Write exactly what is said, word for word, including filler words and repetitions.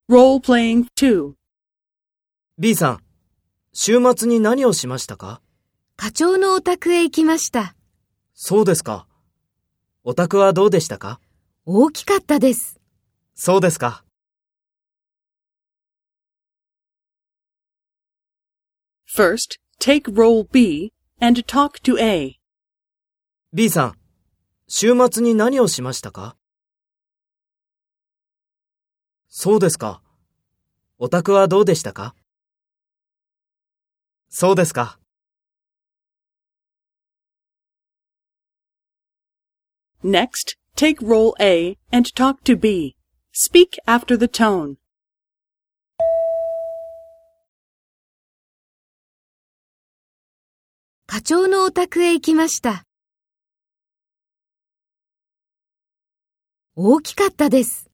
Role-playing two. B さん、週末に何をしましたか？ 課長のお宅へ行きました。 そうですか。お宅はどうでしたか？ 大きかったです。 そうですか。 First, take role B and talk to A. B さん、週末に何をしましたか？そうですか。お宅はどうでしたか？そうですか。 Next, take role A and talk to B. Speak after the tone. 課長のお宅へ行きました。大きかったです。